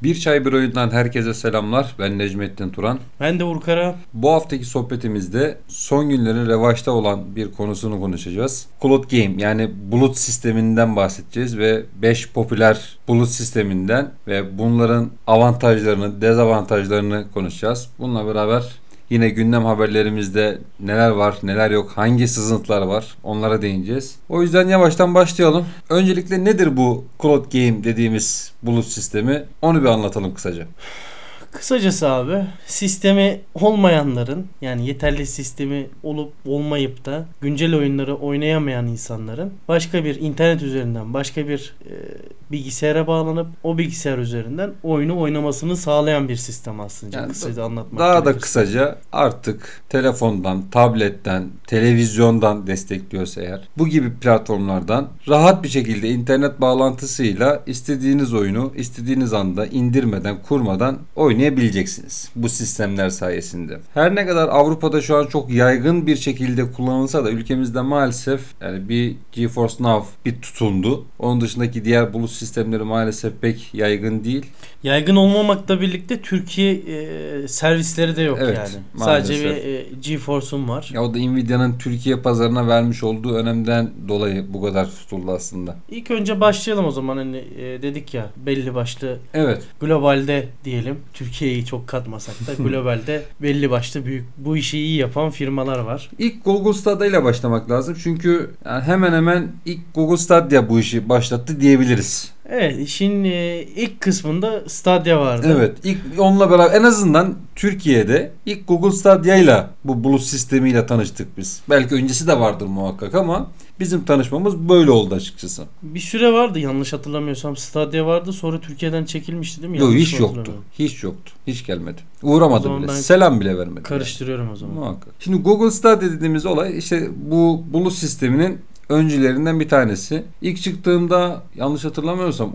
Bir Çay Bir Oyundan herkese selamlar. Ben Necmettin Turan. Ben de Urkara. Bu haftaki sohbetimizde son günlerin revaçta olan bir konusunu konuşacağız. Cloud Game yani bulut sisteminden bahsedeceğiz ve 5 popüler bulut sisteminden ve bunların avantajlarını, dezavantajlarını konuşacağız. Bununla beraber yine gündem haberlerimizde neler var, neler yok, hangi sızıntılar var onlara değineceğiz. O yüzden yavaştan başlayalım. Öncelikle nedir bu Cloud Game dediğimiz bulut sistemi? Onu bir anlatalım kısaca. Kısacası abi sistemi olmayanların yani yeterli sistemi olup olmayıp da güncel oyunları oynayamayan insanların başka bir internet üzerinden başka bir bilgisayara bağlanıp o bilgisayar üzerinden oyunu oynamasını sağlayan bir sistem aslında. Yani kısaca anlatmak daha gerekirse. da kısaca artık telefondan, tabletten, televizyondan destekliyorsa eğer bu gibi platformlardan rahat bir şekilde internet bağlantısıyla istediğiniz oyunu istediğiniz anda indirmeden, kurmadan oynayabileceksiniz bu sistemler sayesinde. Her ne kadar Avrupa'da şu an çok yaygın bir şekilde kullanılsa da ülkemizde maalesef yani bir GeForce Now bir tutundu. Onun dışındaki diğer bulut sistemleri maalesef pek yaygın değil. Yaygın olmamakla birlikte Türkiye servisleri de yok Evet, yani. maalesef. Sadece bir GeForce'um var. Ya o da Nvidia'nın Türkiye pazarına vermiş olduğu önemden dolayı bu kadar tutuldu aslında. İlk önce başlayalım o zaman hani dedik ya belli başlı Evet. globalde diyelim Türkiye'yi çok katmasak da globalde belli başlı büyük bu işi iyi yapan firmalar var. İlk Google Stadia ile başlamak lazım. Çünkü yani hemen hemen ilk Google Stadia bu işi başlattı diyebiliriz. Evet, işin ilk kısmında Stadia vardı. Evet, ilk onunla beraber en azından Türkiye'de ilk Google Stadia ile bu bulut sistemiyle tanıştık biz. Belki öncesi de vardır muhakkak ama bizim tanışmamız böyle oldu açıkçası. Bir süre vardı yanlış hatırlamıyorsam Stadia vardı sonra Türkiye'den çekilmişti değil mi? Yok, Yanlış hiç mı yoktu. hatırlamıyorum? Hiç yoktu. Hiç gelmedi. O Uğramadı zaman bile. ben Selam bile vermedi. Karıştırıyorum o zaman. Muhakkak. Şimdi Google Stadia dediğimiz olay işte bu bulut sisteminin öncülerinden bir tanesi. İlk çıktığında yanlış hatırlamıyorsam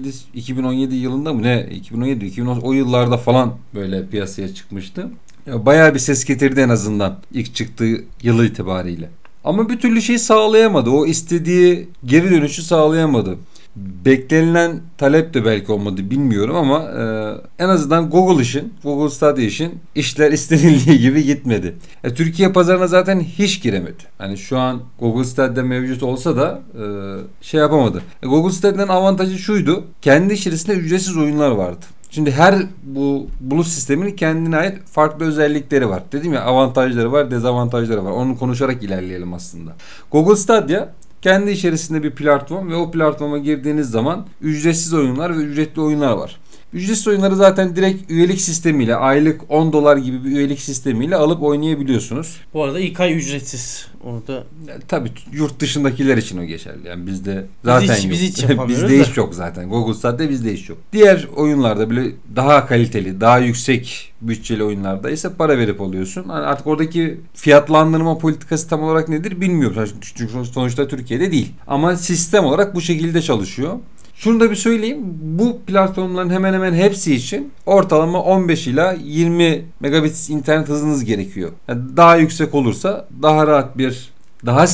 2017 yılında mı ne 2017 o yıllarda falan böyle piyasaya çıkmıştı. Bayağı bir ses getirdi en azından ilk çıktığı yılı itibariyle. Ama bir türlü şey sağlayamadı. O istediği geri dönüşü sağlayamadı. Beklenilen talep de belki olmadı bilmiyorum ama en azından Google Stadia için işler istenildiği gibi gitmedi. Türkiye pazarına zaten hiç giremedi. Hani şu an Google Stadia mevcut olsa da şey yapamadı. Google Stadia'nın avantajı şuydu. Kendi içerisinde ücretsiz oyunlar vardı. Şimdi her bu bulut sisteminin kendine ait farklı özellikleri var. Dedim ya avantajları var, dezavantajları var. Onu konuşarak ilerleyelim aslında. Google Stadia kendi içerisinde bir platform ve o platforma girdiğiniz zaman ücretsiz oyunlar ve ücretli oyunlar var. Ücretsiz oyunları zaten direkt üyelik sistemiyle aylık $10 gibi bir üyelik sistemiyle alıp oynayabiliyorsunuz. Bu arada ilk ay ücretsiz. Onu da Tabii yurt dışındakiler için o geçerli. Yani bizde zaten yok. biz hiç yapamıyoruz Bizde da. hiç yok zaten. Google Stadia bizde hiç yok. Diğer oyunlarda bile daha kaliteli, daha yüksek bütçeli oyunlarda ise para verip alıyorsun. Yani artık oradaki fiyatlandırma politikası tam olarak nedir bilmiyorum. Çünkü sonuçta Türkiye'de değil. Ama sistem olarak bu şekilde çalışıyor. Şunu da bir söyleyeyim. Bu platformların hemen hemen hepsi için ortalama 15 ila 20 megabit internet hızınız gerekiyor. Yani daha yüksek olursa daha rahat daha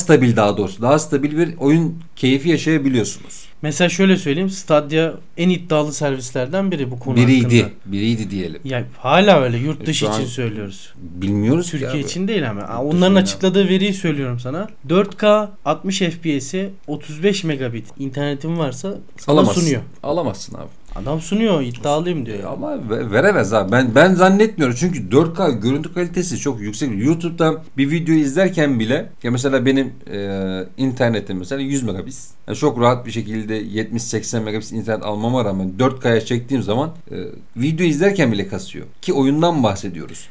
stabil bir oyun keyfi yaşayabiliyorsunuz. mesela şöyle söyleyeyim Stadia en iddialı servislerden biri bu konu hakkında. Biriydi diyelim. Ya hala öyle yurt dışı Şu an için söylüyoruz. bilmiyoruz ki Türkiye abi. için değil ama. Yurt Onların dışında. açıkladığı veriyi söylüyorum sana. 4K 60 FPS'i 35 megabit internetin varsa sana Alamazsın. sunuyor. Alamazsın abi. Adam sunuyor, iddialıyım diyor. Ama veremez abi. Ben zannetmiyorum. Çünkü 4K görüntü kalitesi çok yüksek. YouTube'da bir video izlerken bile ya mesela benim internetim mesela 100 megabit. Yani çok rahat bir şekilde 70-80 megabit internet almama rağmen 4K'ya çektiğim zaman video izlerken bile kasıyor. Ki oyundan bahsediyoruz.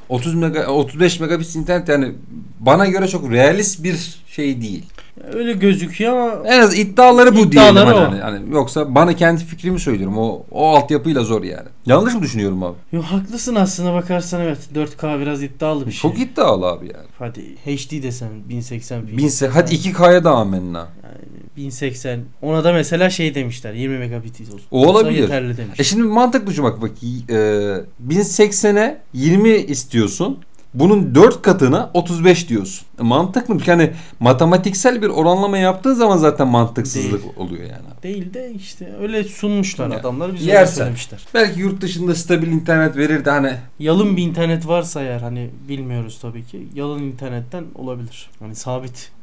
35 megabit internet yani bana göre çok realist bir şey değil. Öyle gözüküyor ama En az iddiaları bu diyelim. İddiaları o. Hani yoksa bana kendi fikrimi söylüyorum. O altyapıyla zor yani. Yanlış mı düşünüyorum abi? yo, haklısın aslına bakarsan evet. 4K biraz iddialı bir şey. Çok iddialı abi yani. Hadi HD desen 1080 Hadi 2K'ya da amenna. yani 1080 ona da mesela şey demişler 20 megabit olsun. O olabilir. Yeterli demiş. Şimdi mantıklı şu bak 1080'e 20 istiyorsun. Bunun 4 katına 35 diyorsun. Mantıklı mı? Yani matematiksel bir oranlama yaptığın zaman zaten mantıksızlık oluyor yani. Değil de işte öyle sunmuşlar Ya, adamlar. Bize öyle yersen. söylemişler. Belki yurt dışında stabil internet verir de hani Yalın bir internet varsa eğer, hani bilmiyoruz tabii ki. Yalın internetten olabilir. Hani sabit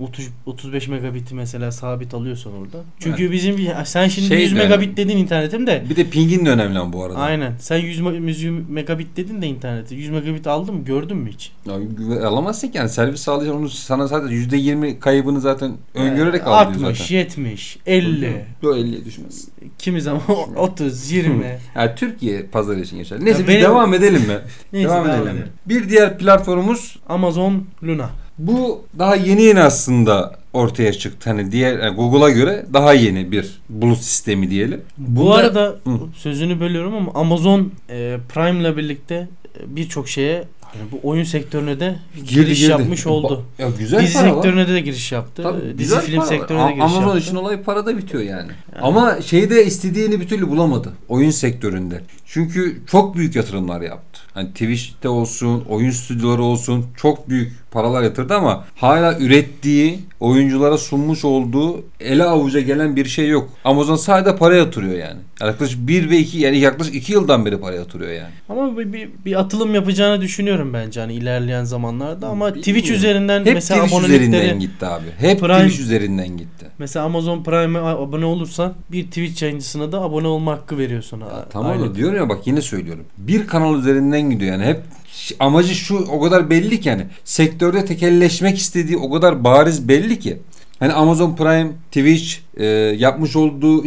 35 megabit'i mesela sabit alıyorsan orada. Çünkü bizim sen şimdi 100 megabit dedin internetim de. Bir de pingin de önemli bu arada. Aynen. Sen 100 megabit dedin de interneti. 100 megabit aldın mı? Gördün mü hiç? Ya, alamazsın ki yani servis sağlayacak onu sana zaten %20 kaybını zaten öngörerek alıyor 60, zaten. 70, 50. Yok 50'ye düşmez. Kimi zaman 30, 20. Yani Türkiye pazarı için geçer. Neyse Ya biz benim- devam edelim mi? Neyse, devam devam edelim. edelim. Bir diğer platformumuz Amazon Luna. bu daha yeni aslında ortaya çıktı. Hani diğer yani Google'a göre daha yeni bir bulut sistemi diyelim. Bu Bunda- arada Hı. sözünü bölüyorum ama Amazon Prime'la birlikte birçok şeye, hani bu oyun sektörüne de giriş yapmış oldu. Ya güzel Dizi para var. sektörüne de giriş yaptı. Tabii, Dizi güzel film para var. sektörüne de giriş Amazon yaptı. işin olayı parada bitiyor yani. Ama şeyde istediğini bir türlü bulamadı. Oyun sektöründe. Çünkü çok büyük yatırımlar yaptı. Hani Twitch'te olsun, oyun stüdyoları olsun çok büyük paralar yatırdı ama hala ürettiği, oyunculara sunmuş olduğu ele avuca gelen bir şey yok. Amazon sadece para yatırıyor yani. Yaklaşık 1 ve 2 yani yaklaşık 2 yıldan beri para yatırıyor yani. Ama bir atılım yapacağını düşünüyorum bence hani ilerleyen zamanlarda, ama Bilmiyorum. Twitch üzerinden Hep mesela Twitch abonelikleri, üzerinden gitti abi. Hep Prime- Twitch üzerinden gitti. mesela Amazon Prime'e abone olursan bir Twitch yayıncısına da abone olma hakkı veriyor sana. Tamam Aylık. da diyorum ya bak yine söylüyorum. Bir kanal üzerinden gidiyor yani hep amacı şu o kadar belli ki yani sektörde tekelleşmek istediği o kadar bariz belli ki. Hani Amazon Prime, Twitch yapmış olduğu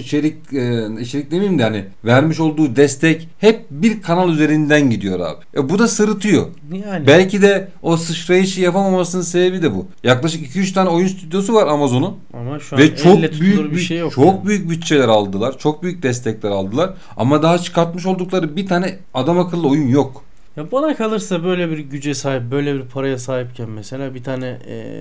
içerik demeyeyim de hani vermiş olduğu destek hep bir kanal üzerinden gidiyor abi. Bu da sırıtıyor. Yani. Belki de o sıçrayışı yapamamasının sebebi de bu. Yaklaşık 2-3 tane oyun stüdyosu var Amazon'un. Ama şu an Ve çok elle tutulur büyük bir şey yok. çok yani. büyük bütçeler aldılar. Çok büyük destekler aldılar. Ama daha çıkartmış oldukları bir tane adam akıllı oyun yok. Ya bana kalırsa böyle bir güce sahip, böyle bir paraya sahipken mesela bir tane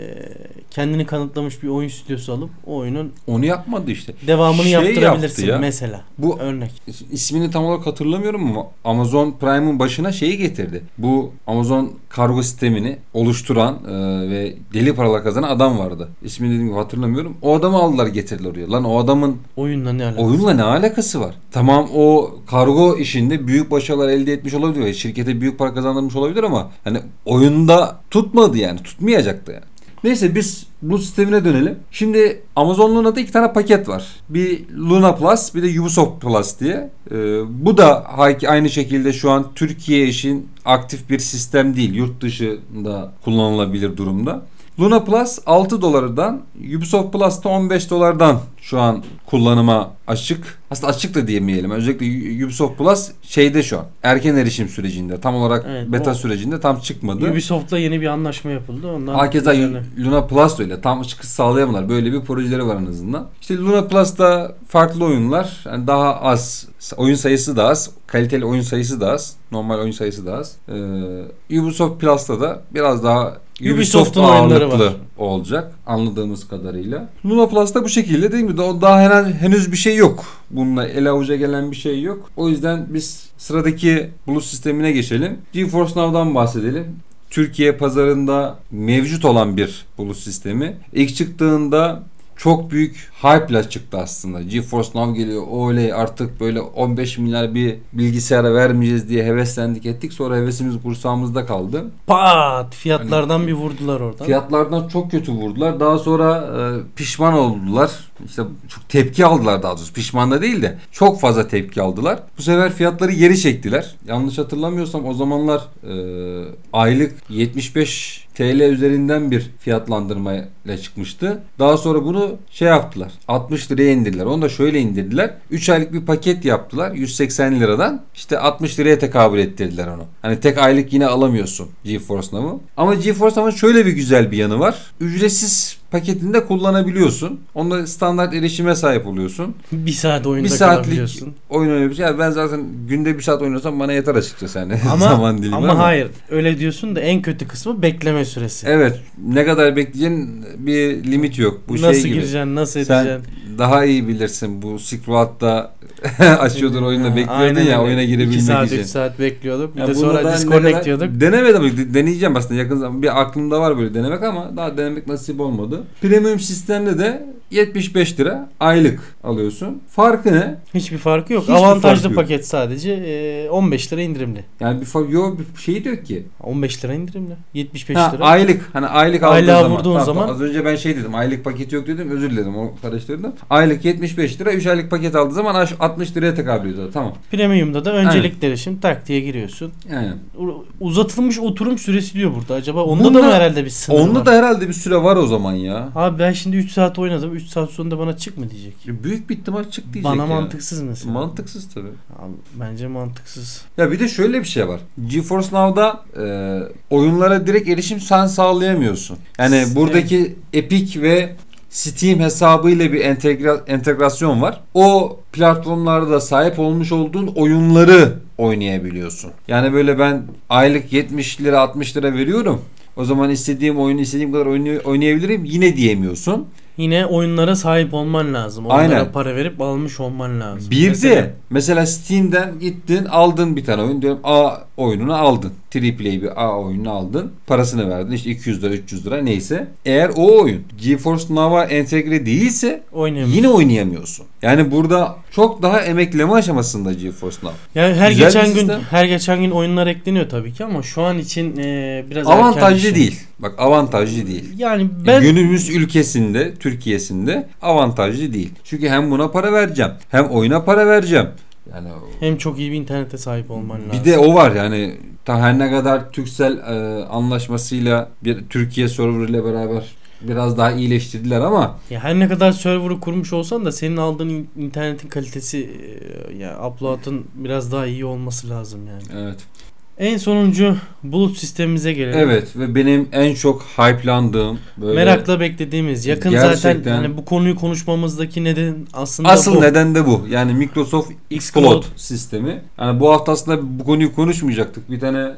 kendini kanıtlamış bir oyun stüdyosu alıp o oyunun Onu yapmadı işte. devamını Şey yaptırabilirsin yaptı ya. mesela. Bu Örnek. ismini tam olarak hatırlamıyorum ama Amazon Prime'ın başına şeyi getirdi. Bu Amazon kargo sistemini oluşturan ve deli paralar kazanan adam vardı. İsmini dediğim gibi hatırlamıyorum. O adamı aldılar getirdiler oraya. Lan o adamın Oyunla ne alakası? oyunla ne alakası var? Tamam o kargo işinde büyük başarılar elde etmiş olabilir ve şirkete büyük para kazandırmış olabilir ama hani oyunda tutmadı yani. Tutmayacaktı yani. Neyse biz bu sistemine dönelim. Şimdi Amazon Luna'da 2 tane paket var. Bir Luna Plus bir de Ubisoft Plus diye. Bu da aynı şekilde şu an Türkiye için aktif bir sistem değil. Yurt dışında kullanılabilir durumda. Luna Plus 6 dolardan, Ubisoft Plus da 15 dolardan şu an kullanıma açık. Aslında açık da diyemeyelim. Özellikle Ubisoft Plus şeyde şu an erken erişim sürecinde. Tam olarak Evet, beta sürecinde tam çıkmadı. Ubisoft'la yeni bir anlaşma yapıldı. Ondan Hakeza üzerine. Luna Plus da öyle. Tam çıkış sağlayamadılar. Böyle bir projeleri var en azından. İşte Luna Plus'ta farklı oyunlar. Yani daha az. Oyun sayısı da az. Kaliteli oyun sayısı da az. Normal oyun sayısı da az. Ubisoft Plus'ta da biraz daha Ubisoft Ubisoft'un oyunları ağırlıklı var. olacak anladığımız kadarıyla. Luna Plus'ta bu şekilde değil mi? Daha henüz bir şey yok. Bununla ele avuca gelen bir şey yok. O yüzden biz sıradaki bulut sistemine geçelim. GeForce Now'dan bahsedelim. Türkiye pazarında mevcut olan bir bulut sistemi. İlk çıktığında çok büyük hype'la çıktı aslında. GeForce Now geliyor. Oley artık böyle 15 milyar bir bilgisayara vermeyeceğiz diye heveslendik ettik. Sonra hevesimiz kursağımızda kaldı. Pat! Fiyatlardan bir vurdular oradan. Fiyatlardan çok kötü vurdular. Daha sonra pişman oldular. İşte çok tepki aldılar daha doğrusu. Pişman da değil de çok fazla tepki aldılar. Bu sefer fiyatları geri çektiler. Yanlış hatırlamıyorsam o zamanlar aylık 75 TL üzerinden bir fiyatlandırmayla çıkmıştı. Daha sonra bunu şey yaptılar. 60 liraya indirdiler. Onu da şöyle indirdiler. 3 aylık bir paket yaptılar. 180 liradan. İşte 60 liraya tekabül ettirdiler onu. Hani tek aylık yine alamıyorsun GeForce Now'u. Ama GeForce Now'ın şöyle bir güzel bir yanı var. Ücretsiz paketinde kullanabiliyorsun. Onda standart erişime sahip oluyorsun. Bir saat oyunda Bir saatlik kalabiliyorsun. oyun oynayabiliyorsun. Yani ben zaten günde 1 saat oynuyorsam bana yeter açıkçası yani. Ama, Zaman dilimi ama hayır. Öyle diyorsun da en kötü kısmı bekleme süresi. Evet. Ne kadar bekleyeceğin bir limit yok. Bu nasıl şey gibi. gireceksin, nasıl Sen edeceksin? daha iyi bilirsin bu Silk Road'da Açıyordun oyunda bekliyordun Aynen ya öyle. oyuna 2 girebilmek saat için. 3 saat bekliyorduk. Bir Ya de bunu sonra da disconnect diyorduk. Denemedim. Deneyeceğim aslında yakın zaman. Bir aklımda var böyle denemek ama daha denemek nasip olmadı. Premium sistemde de 75 lira aylık alıyorsun. Farkı ne? Hiçbir farkı yok. Hiçbir Avantajlı farkı yok. paket sadece 15 lira indirimli. Yani bir fark yok, bir şey diyor ki. 15 lira indirimli. 75 Ha, lira. aylık. Hani aylık aldığın Aylığa zaman. vurduğun zaman- Az önce ben şey dedim. Aylık paketi yok dedim. Özür dilerim. O karıştırdım. Aylık 75 lira. 3 aylık paket aldığı zaman 60 liraya tekabül ediyor. Tamam. Premium'da da öncelikleri şimdi tak diye giriyorsun. Yani. Uzatılmış oturum süresi diyor burada. Acaba onda Bunda- da mı herhalde bir sınır Onda var? da herhalde bir süre var o zaman ya. Abi ben şimdi 3 saat oynadım. 3 saat sonunda bana çık mı diyecek? Büyük bir ihtimal çık diyecek Bana ya. mantıksız mesela. Mantıksız tabii. Abi, bence mantıksız. Ya bir de şöyle bir şey var. GeForce Now'da oyunlara direkt erişim sen sağlayamıyorsun. Yani Evet. buradaki Epic ve Steam hesabıyla bir entegrasyon var. O platformlarda sahip olmuş olduğun oyunları oynayabiliyorsun. Yani böyle ben aylık 70 lira 60 lira veriyorum. O zaman istediğim oyunu istediğim kadar oynayabilirim yine diyemiyorsun. Yine oyunlara sahip olman lazım. Onlara Aynen. para verip almış olman lazım. Bir de mesela Steam'den gittin aldın bir tane oyun diyorum A oyununu aldın. AAA bir A oyununu aldın. Parasını verdin işte 200 lira 300 lira neyse. Eğer o oyun GeForce Now'a entegre değilse oynayamıyorsun. yine oynayamıyorsun. Yani burada çok daha emekleme aşamasında GeForce Now. Yani her Güzel bir geçen gün sistem. her geçen gün oyunlar ekleniyor tabii ki ama şu an için biraz erken bir Avantajlı şey. değil. Bak avantajlı değil. Yani ben Günümüz ülkesinde, Türkiye'sinde avantajlı değil. Çünkü hem buna para vereceğim, hem oyuna para vereceğim. Yani hem çok iyi bir internete sahip olman lazım. bir de o var yani her ne kadar Turkcell anlaşmasıyla bir Türkiye server ile beraber biraz daha iyileştirdiler ama ya her ne kadar server'ı kurmuş olsan da senin aldığın internetin kalitesi ya upload'ın biraz daha iyi olması lazım yani. evet. En sonuncu bulut sistemimize gelelim. Evet ve benim en çok hype'landığım böyle Merakla beklediğimiz yakın Gerçekten. zaten hani bu konuyu konuşmamızdaki neden aslında asıl bu. neden de bu. Yani Microsoft xCloud xCloud sistemi. Yani bu hafta aslında bu konuyu konuşmayacaktık. Bir tane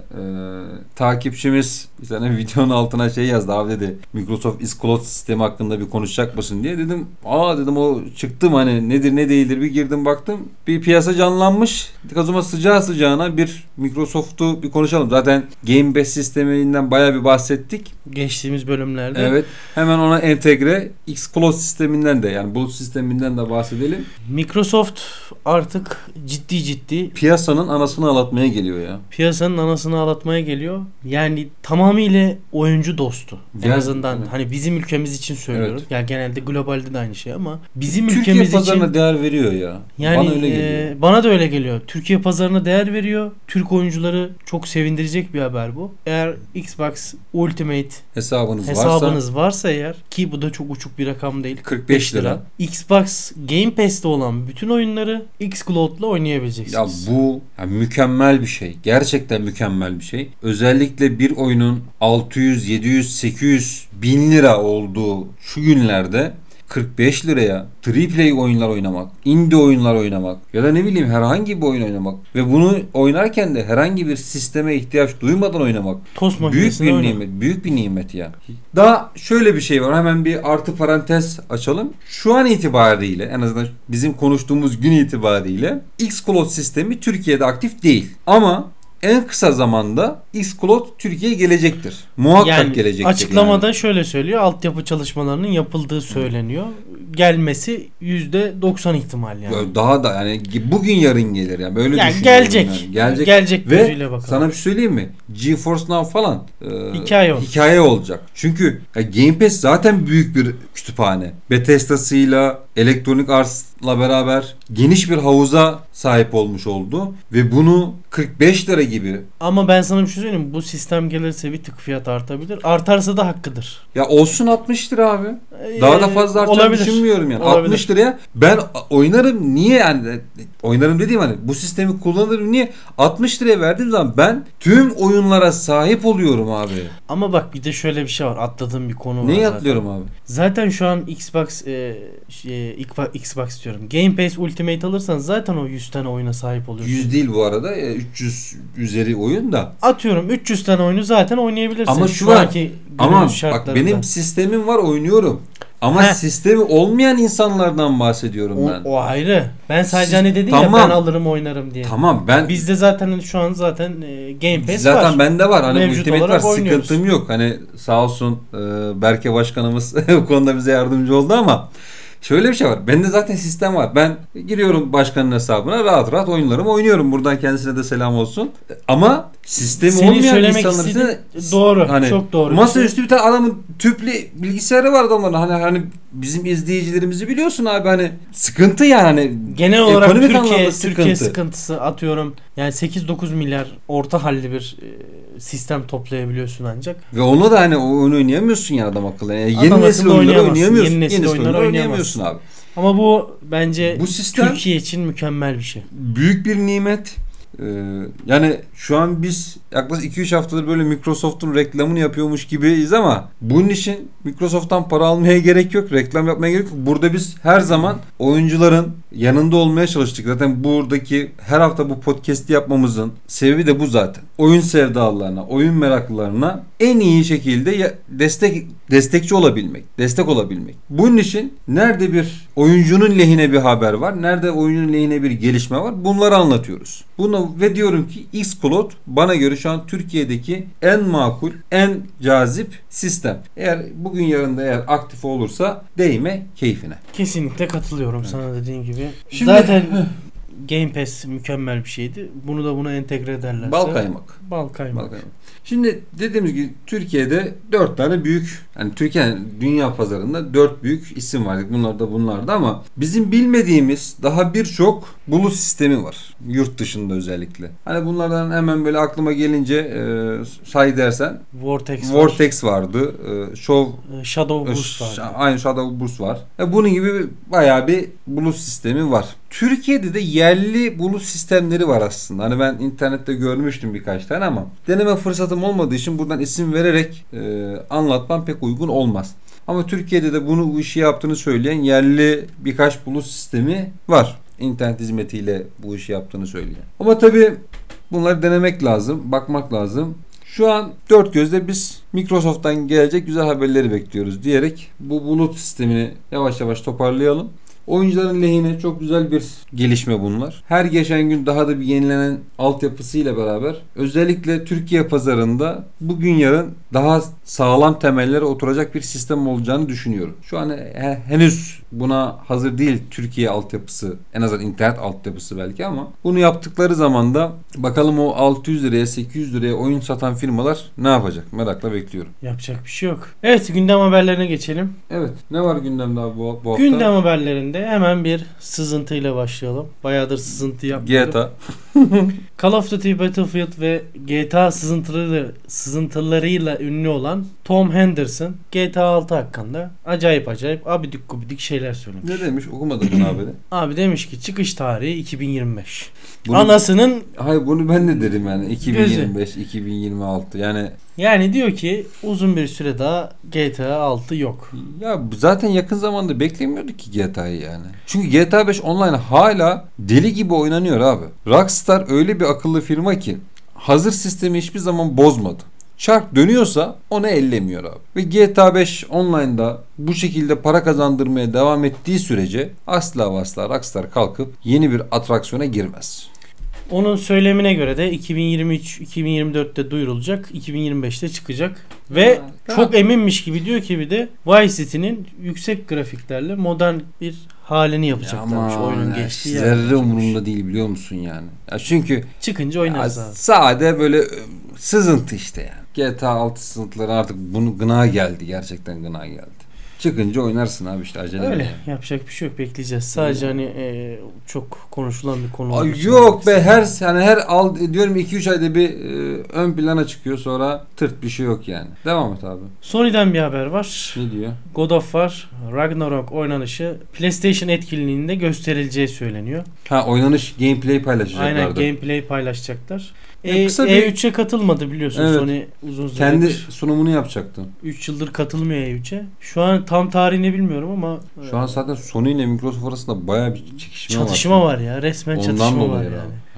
takipçimiz bir tane videonun altına şey yazdı. Abi dedi Microsoft xCloud sistemi hakkında bir konuşacak mısın diye. Dedim dedim o çıktım hani nedir ne değildir bir girdim baktım. Bir piyasa canlanmış. O zaman sıcağı sıcağına bir Microsoft'u bir konuşalım. Zaten Game Pass sisteminden bayağı bir bahsettik. Geçtiğimiz bölümlerde. Evet. Hemen ona entegre xCloud sisteminden de yani bulut sisteminden de bahsedelim. Microsoft artık ciddi Piyasanın anasını ağlatmaya geliyor ya. piyasanın anasını ağlatmaya geliyor. Yani tamamıyla oyuncu dostu. En Yani, azından evet. hani bizim ülkemiz için söylüyorum. Evet. Yani genelde globalde de aynı şey ama bizim Türkiye ülkemiz pazarına için değer veriyor ya. yani Bana öyle geliyor. bana da öyle geliyor. Türkiye pazarına değer veriyor. Türk oyuncuları çok sevindirecek bir haber bu. Eğer Xbox Ultimate Hesabınız varsa eğer ki bu da çok uçuk bir rakam değil. 45 lira. Xbox Game Pass'te olan bütün oyunları xCloud'la Ya oynayabileceksiniz. bu mükemmel bir şey. Gerçekten mükemmel bir şey. Özellikle bir oyunun 600, 700, 800 bin lira olduğu şu günlerde 45 liraya AAA oyunlar oynamak, indie oyunlar oynamak ya da ne bileyim herhangi bir oyun oynamak ve bunu oynarken de herhangi bir sisteme ihtiyaç duymadan oynamak Tost büyük makinesinde bir oyna. nimet, büyük bir nimet ya. Daha şöyle bir şey var. Hemen bir artı parantez açalım. Şu an itibariyle en azından bizim konuştuğumuz gün itibariyle xCloud sistemi Türkiye'de aktif değil. Ama en kısa zamanda xCloud Türkiye'ye gelecektir. Muhakkak Yani gelecektir. açıklamada yani. şöyle söylüyor. Altyapı çalışmalarının yapıldığı söyleniyor. Gelmesi %90 ihtimal yani. Daha da yani bugün yarın gelir yani böyle Yani düşünüyorum gelecek. yani. Gelecek. Gelecek Ve gözüyle bakalım. sana bir şey söyleyeyim mi? GeForce Now falan Hikaye olacak. Çünkü Game Pass zaten büyük bir kütüphane. Bethesda'sıyla, Electronic Arts'la beraber geniş bir havuza sahip olmuş oldu ve bunu 45 lira gibi Ama ben sana bir şey söyleyeyim mi? Bu sistem gelirse bir tık fiyat artabilir. Artarsa da hakkıdır. ya olsun 60 lira abi. Daha da fazla artacağını olabilir. düşünmüyorum yani. Olabilir. 60 liraya ben oynarım niye yani oynarım dediğim hani bu sistemi kullanırım niye 60 liraya verdiğim zaman ben tüm oyunlara sahip oluyorum abi. Ama bak bir de şöyle bir şey var. Atladığım bir konu var Neyi zaten. atlıyorum abi? Zaten şu an Xbox diyorum. Game Pass Ultimate alırsan zaten o 100 tane oyuna sahip oluyorsun. 100 değil bu arada 300 üzeri oyun da. Atıyorum 300 tane oyunu zaten oynayabilirsin. Ama şu var. anki Ama günümüz bak şartlarında. benim sistemim var oynuyorum. Ama Heh. sistemi olmayan insanlardan bahsediyorum ben. O ayrı. Ben sadece Siz- hani dedin tamam. ya ben alırım oynarım diye. Tamam ben Bizde zaten şu an zaten Game Pass zaten var. bende var. Hani Mevcut Ultimate var. olarak oynuyoruz. Sıkıntım yok. Hani sağ olsun Berke Başkanımız bu konuda bize yardımcı oldu ama şöyle bir şey var. Bende zaten sistem var. Ben giriyorum başkanın hesabına rahat rahat oyunlarımı oynuyorum. Buradan kendisine de selam olsun. Ama sistemi Senin olmayan söylemek insanlar için istediğin doğru. hani Çok doğru. masaüstü bir tane adamın tüplü bilgisayarı var adamların. Hani bizim izleyicilerimizi biliyorsun abi, hani sıkıntı yani. Hani Genel olarak ekonomik Türkiye anlamda sıkıntı. sıkıntısı atıyorum. Yani 8-9 milyar orta halli bir sistem toplayabiliyorsun ancak. Ve onu da hani oyun oynayamıyorsun yani adam akıllı. Yani Adam yeni akıllı nesil oyunları oynayamazsın. oynayamıyorsun. Yeni nesil oyunları oyunları oynayamazsın. abi. Ama bu bence Bu sistem Türkiye için mükemmel bir şey. büyük bir nimet. Yani şu an biz yaklaşık 2-3 haftadır böyle Microsoft'un reklamını yapıyormuş gibiyiz ama bunun için Microsoft'tan para almaya gerek yok. Reklam yapmaya gerek yok. Burada biz her zaman oyuncuların yanında olmaya çalıştık. Zaten buradaki her hafta bu podcast'i yapmamızın sebebi de bu zaten. Oyun sevdalılarına, oyun meraklılarına en iyi şekilde destekçi olabilmek, destek olabilmek. Bunun için nerede bir oyuncunun lehine bir haber var, nerede oyuncunun lehine bir gelişme var, bunları anlatıyoruz. Bunu ve diyorum ki Xcloud bana göre şu an Türkiye'deki en makul, en cazip sistem. Eğer bugün yarın da eğer aktif olursa değme keyfine. Kesinlikle katılıyorum sana dediğin gibi. Şimdi- Zaten Game Pass mükemmel bir şeydi. Bunu da buna entegre ederlerse. Bal kaymak. Bal kaymak. Şimdi dediğimiz gibi Türkiye'de 4 tane büyük, yani Türkiye dünya pazarında 4 büyük isim var. Bunlar da ama bizim bilmediğimiz daha birçok bulut sistemi var. Yurt dışında özellikle. Hani bunlardan hemen böyle aklıma gelince say dersen Vortex vardı. Shadow Boost vardı. Aynı Shadow Boost var. Bunun gibi bayağı bir bulut sistemi var. Türkiye'de de yerli bulut sistemleri var aslında. Hani ben internette görmüştüm birkaç tane ama deneme fırsatım olmadığı için buradan isim vererek anlatmam pek uygun olmaz. Ama Türkiye'de de bu işi yaptığını söyleyen yerli birkaç bulut sistemi var. İnternet hizmetiyle bu işi yaptığını söyleyen. Ama tabii bunları denemek lazım, bakmak lazım. Şu an dört gözle biz Microsoft'tan gelecek güzel haberleri bekliyoruz diyerek bu bulut sistemini yavaş yavaş toparlayalım. Oyuncuların lehine çok güzel bir gelişme bunlar. Her geçen gün daha da bir yenilenen altyapısıyla beraber özellikle Türkiye pazarında bugün yarın daha sağlam temellere oturacak bir sistem olacağını düşünüyorum. Şu an henüz buna hazır değil Türkiye altyapısı, en azından internet altyapısı belki, ama bunu yaptıkları zaman da bakalım o 600 liraya 800 liraya oyun satan firmalar ne yapacak? Merakla bekliyorum. Yapacak bir şey yok. Evet, gündem haberlerine geçelim. Evet. Ne var gündemde abi bu hafta? Gündem haberlerinde hemen bir sızıntıyla başlayalım. Bayağıdır sızıntı yapmıyorduk. GTA. Call of Duty Battlefield ve GTA sızıntılarıyla ünlü olan Tom Henderson GTA 6 hakkında acayip abidik gubidik şeyler söylemiş. Ne demiş? Okumadım bunu haberi. Abi demiş ki çıkış tarihi 2025. Bunu, Anasının hayır bunu ben de derim yani 2025, 2026 yani diyor ki uzun bir süre daha GTA 6 yok. ya zaten yakın zamanda beklemiyorduk ki GTA'yı yani. Çünkü GTA 5 online hala deli gibi oynanıyor abi. Rockstar öyle bir akıllı firma ki hazır sistemi hiçbir zaman bozmadı. Çark dönüyorsa onu ellemiyor abi. Ve GTA 5 online'da bu şekilde para kazandırmaya devam ettiği sürece asla ve asla Rockstar kalkıp yeni bir atraksiyona girmez. Onun söylemine göre de 2023-2024'te duyurulacak, 2025'te çıkacak ve çok eminmiş gibi diyor ki bir de Vice City'nin yüksek grafiklerle modern bir halini yapacaklarmış oyunun geçtiği yer. Zerre umurumda değil biliyor musun yani. Ya çünkü çıkınca oynarız abi. Sade böyle sızıntı işte yani. GTA 6 sızıntıları artık bunu gına geldi. Gerçekten gına geldi. Çıkınca oynarsın abi işte acele. Öyle Yani. yapacak bir şey yok, bekleyeceğiz. Sadece hani çok konuşulan bir konu olduğu için yok be diyorum 2-3 ayda bir ön plana çıkıyor, sonra tırt bir şey yok yani. Devam et abi. Sony'den bir haber var. Ne diyor? God of War Ragnarok oynanışı PlayStation etkinliğinde gösterileceği söyleniyor. Oynanış gameplay paylaşacaklardı. Aynen, gameplay paylaşacaklar. Kısa bir- E3'e katılmadı biliyorsun, Evet. Sony uzun süredir. Kendi sunumunu yapacaktı. 3 yıldır katılmıyor E3'e. Şu an tam tarihini bilmiyorum ama Şu an zaten Sony ile Microsoft arasında bayağı bir çekişme var. çatışma var ya. Resmen Ondan çatışma var dolayı yani. abi.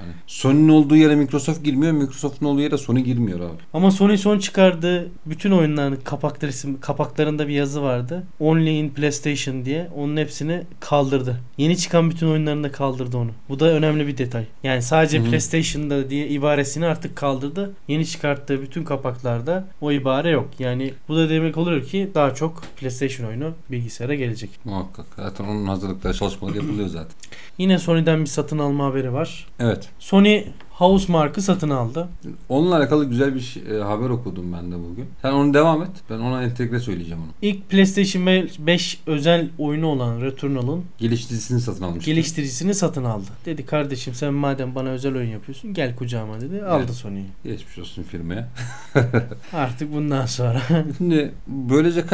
Hani Sony'nin olduğu yere Microsoft girmiyor, Microsoft'un olduğu yere Sony girmiyor abi. Ama Sony son çıkardığı bütün oyunların kapaklarında bir yazı vardı. Only in PlayStation diye. Onun hepsini kaldırdı. Yeni çıkan bütün oyunlarını da kaldırdı onu. Bu da önemli bir detay. Yani sadece PlayStation'da diye ibaresini artık kaldırdı. Yeni çıkarttığı bütün kapaklarda o ibare yok. Yani bu da demek oluyor ki daha çok PlayStation oyunu bilgisayara gelecek. Muhakkak. Zaten onun hazırlıkları, çalışmaları yapılıyor zaten. Yine Sony'den bir satın alma haberi var. Evet. Sony Housemarque'ı satın aldı. Onunla alakalı güzel bir haber okudum ben de bugün. Sen onu devam et. Ben ona entegre söyleyeceğim onu. İlk PlayStation 5 özel oyunu olan Returnal'ın Geliştiricisini satın almıştı. geliştiricisini satın aldı. Dedi kardeşim sen madem bana özel oyun yapıyorsun gel kucağıma dedi. Aldı Evet. Sony'yi. Geçmiş olsun firmaya. Artık bundan sonra. Şimdi böylece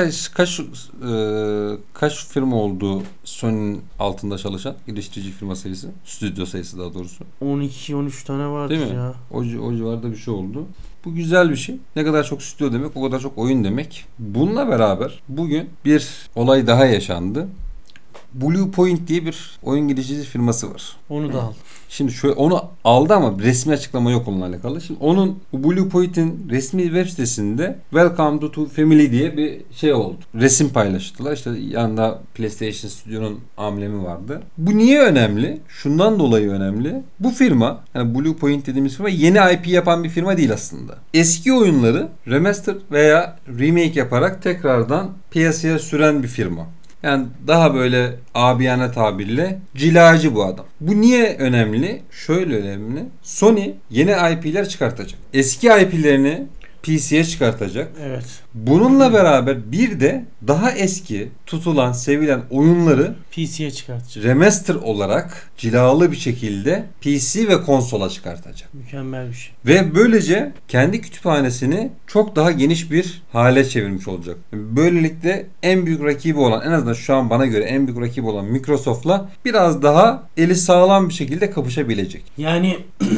kaç firma oldu Sony'nin altında çalışan geliştirici firma sayısı, stüdyo sayısı daha doğrusu. 12-13 tane vardır Değil mi? ya. O civarda bir şey oldu. Bu güzel bir şey. Ne kadar çok stüdyo demek, o kadar çok oyun demek. Bununla beraber bugün bir olay daha yaşandı. Blue Point diye bir oyun geliştirici firması var. Onu da al. Şimdi şöyle onu aldı ama resmi açıklama yok onunla alakalı. Şimdi onun bu Blue Point'in resmi web sitesinde Welcome to Family diye bir şey oldu. Resim paylaştılar. İşte yanında PlayStation Studio'nun amblemi vardı. Bu niye önemli? Şundan dolayı önemli. Bu firma, yani Blue Point dediğimiz firma yeni IP yapan bir firma değil aslında. Eski oyunları remaster veya remake yaparak tekrardan piyasaya süren bir firma. Yani daha böyle abiyane tabirle cilacı bu adam. Bu niye önemli? Şöyle önemli. Sony yeni IP'ler çıkartacak. Eski IP'lerini PC'ye çıkartacak. Evet. Bununla beraber bir de daha eski tutulan, sevilen oyunları PC'ye çıkartacak. remaster olarak cilalı bir şekilde PC ve konsola çıkartacak. Mükemmel bir şey. Ve böylece kendi kütüphanesini çok daha geniş bir hale çevirmiş olacak. Böylelikle en büyük rakibi olan, en azından şu an bana göre en büyük rakibi olan Microsoft'la biraz daha eli sağlam bir şekilde kapışabilecek. Yani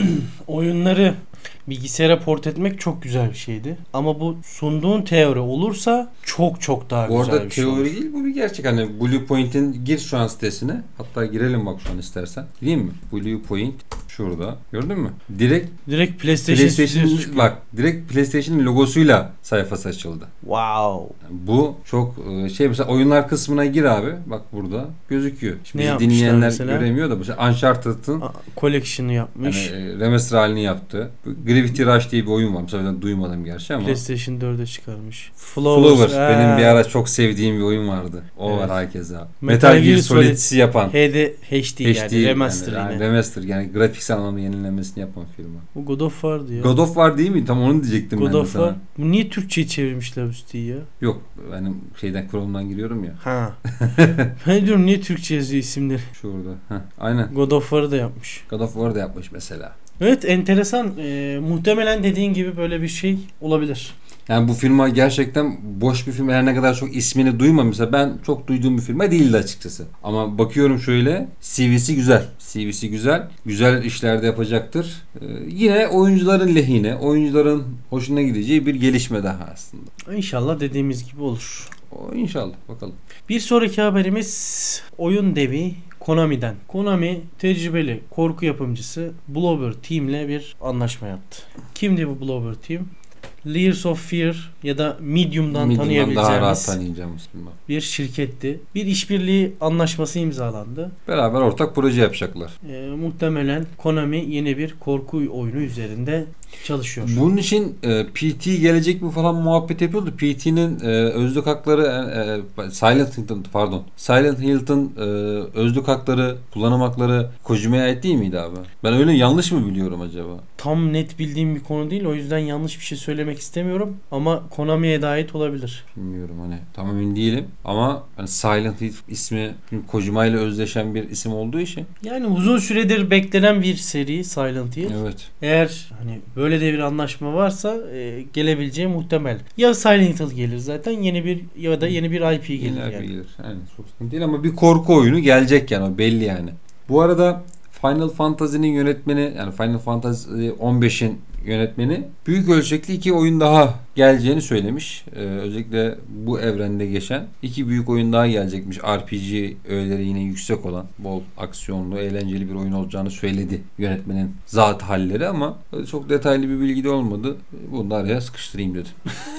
oyunları bilgisayara port etmek çok güzel bir şeydi. Ama bu sunduğun teori olursa çok çok daha Bu güzel arada bir şey olur. teori değil, bu bir gerçek. Hani Blue Point'in gir şu an sitesine. Hatta girelim bak şu an istersen. Gireyim mi? Blue Point şurada. Gördün mü? Direkt PlayStation Studios çıkıyor. bak direkt PlayStation'ın logosuyla sayfası açıldı. Wow. Yani bu çok mesela oyunlar kısmına gir abi. Bak burada gözüküyor. Şimdi Ne bizi yapmışlar dinleyenler mesela? göremiyor da mesela Uncharted'ın Collection'ı yapmış. yani, remaster halini yaptı. Gravity Rush diye bir oyun var. Mesela ben duymadım gerçi ama. PlayStation 4'e çıkarmış. Flower. Benim bir ara çok sevdiğim bir oyun vardı. O Evet. var herkese. Metal Gear Solid'i yapan. HD yani remaster yani, yine. remaster yani grafiksel anlamda yenilenmesini yapan firma. Bu God of War'dı ya. God of War değil mi? Tam onu diyecektim God ben de of sana. War. Bu niye Türkçe'ye çevirmişler bu siteyi ya? Yok benim Chrome'dan giriyorum ya. Ha. Ben diyorum niye Türkçe yazıyor isimleri? Şurada. Aynen. God of War'ı da yapmış. God of War da yapmış mesela. Evet enteresan. Muhtemelen dediğin gibi böyle bir şey olabilir. Yani bu firma gerçekten boş bir firma. Her ne kadar çok ismini duymamışsa, ben çok duyduğum bir firma değildi açıkçası. Ama bakıyorum şöyle, CV'si güzel. CV'si güzel. Güzel işlerde yapacaktır. Yine oyuncuların lehine, oyuncuların hoşuna gideceği bir gelişme daha aslında. İnşallah dediğimiz gibi olur. O inşallah bakalım. Bir sonraki haberimiz oyun devi Konami'den. Konami tecrübeli korku yapımcısı Bloober Team'le bir anlaşma yaptı. Kimdi bu Bloober Team? Layers of Fear ya da Medium'dan Daha rahat tanıyabileceğimiz tanıyacağımız firma. bir şirketti. Bir işbirliği anlaşması imzalandı. Beraber ortak proje yapacaklar. Muhtemelen Konami yeni bir korku oyunu üzerinde çalışıyor. Bunun için PT gelecek mi falan muhabbet yapıyordu. PT'nin özlük hakları Silent Hill'ın özlük hakları, kullanım hakları Kojima'ya ait değil miydi abi? Ben öyle yanlış mı biliyorum acaba? Tam net bildiğim bir konu değil. O yüzden yanlış bir şey söylemek istemiyorum. Ama Konami'ye de ait olabilir. Bilmiyorum hani tam emin değilim. Ama hani Silent Hill ismi Kojima ile özdeşen bir isim olduğu için. Yani uzun süredir beklenen bir seri Silent Hill. Evet. Eğer hani böyle de bir anlaşma varsa gelebileceği muhtemel. Ya Silent Hill gelir zaten yeni bir ya da yeni bir IP gelir Yeni yani. gelir. Yani çok sıkıntı değil ama bir korku oyunu gelecek yani o belli yani. Bu arada Final Fantasy'nin yönetmeni, yani Final Fantasy 15'in yönetmeni büyük ölçekli 2 oyun daha geleceğini söylemiş. Özellikle bu evrende geçen 2 büyük oyun daha gelecekmiş. RPG öğeleri yine yüksek olan, bol aksiyonlu, eğlenceli bir oyun olacağını söyledi yönetmenin zat halleri, ama çok detaylı bir bilgi de olmadı. Bunu da araya sıkıştırayım dedim.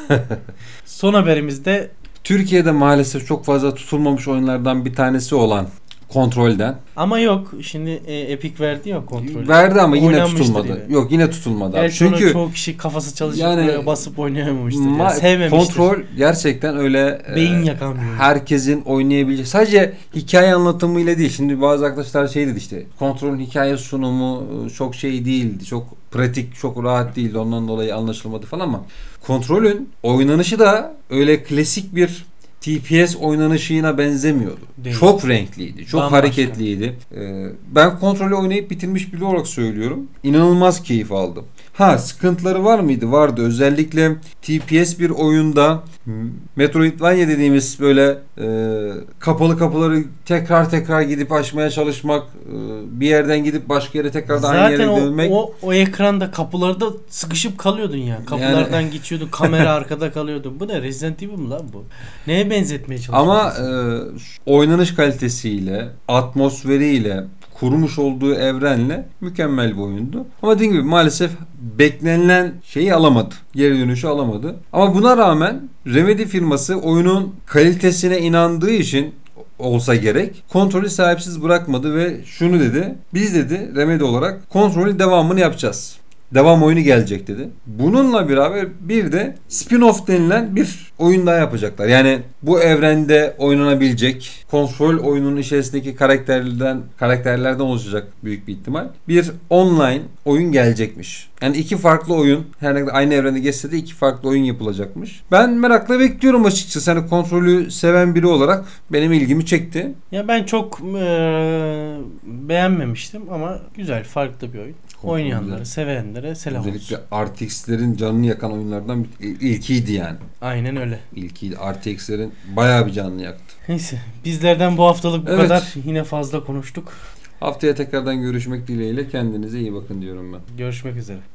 Son haberimizde Türkiye'de maalesef çok fazla tutulmamış oyunlardan bir tanesi olan Kontrol'den. ama yok. Şimdi Epic verdi ya kontrolü. Verdi ama yine Oynanmıştır tutulmadı. yine. Yok, yine tutulmadı. Gerçi Çünkü çoğu kişi kafası çalışıp yani böyle basıp oynayamamıştır. Yani. Sevmemiştir. Kontrol gerçekten öyle Beyin yakan bir oyun. herkesin oynayabileceği, sadece hikaye anlatımıyla değil. Şimdi bazı arkadaşlar şey dedi, işte Kontrol'ün hikaye sunumu çok şey değildi. Çok pratik, çok rahat değildi. Ondan dolayı anlaşılmadı falan, ama Kontrol'ün oynanışı da öyle klasik bir TPS oynanışına benzemiyordu. Değil. Çok renkliydi, çok Bambaşka. hareketliydi. Ben Kontrol'ü oynayıp bitirmiş biri olarak söylüyorum. İnanılmaz keyif aldım. Sıkıntıları var mıydı? Vardı. Özellikle TPS bir oyunda Metroidvania dediğimiz böyle kapalı kapıları tekrar gidip açmaya çalışmak, bir yerden gidip başka yere tekrardan aynı yere dönmek. Zaten o ekranda kapılarda sıkışıp kalıyordun ya. Kapılardan geçiyordun, kamera arkada kalıyordun. Bu ne? Resident Evil mi lan bu? Neye benzetmeye çalışıyorsun? Ama oynanış kalitesiyle, atmosferiyle, kurmuş olduğu evrenle mükemmel bir oyundu. Ama dediğim gibi maalesef beklenilen şeyi alamadı. Geri dönüşü alamadı. Ama buna rağmen Remedy firması oyunun kalitesine inandığı için olsa gerek, Kontrol'ü sahipsiz bırakmadı ve şunu dedi. Biz dedi Remedy olarak Kontrol'ün devamını yapacağız. Devam oyunu gelecek dedi. Bununla beraber bir de spin-off denilen bir oyun daha yapacaklar. Yani bu evrende oynanabilecek, Kontrol oyunun içerisindeki karakterlerden oluşacak büyük bir ihtimal. Bir online oyun gelecekmiş. Yani 2 farklı oyun, her ne kadar aynı evrende geçse de 2 farklı oyun yapılacakmış. Ben merakla bekliyorum açıkçası. Hani Kontrol'ü seven biri olarak benim ilgimi çekti. Ya ben çok beğenmemiştim ama güzel, farklı bir oyun. Kontrol Oynayanlara, güzel. sevenlere selam olsun. Özellikle RTX'lerin canını yakan oyunlardan ilkiydi yani. Aynen öyle. İlkiydi. RTX'lerin bayağı bir canını yaktı. Neyse, bizlerden bu haftalık bu Evet. kadar. Yine fazla konuştuk. Haftaya tekrardan görüşmek dileğiyle, kendinize iyi bakın diyorum ben. Görüşmek üzere.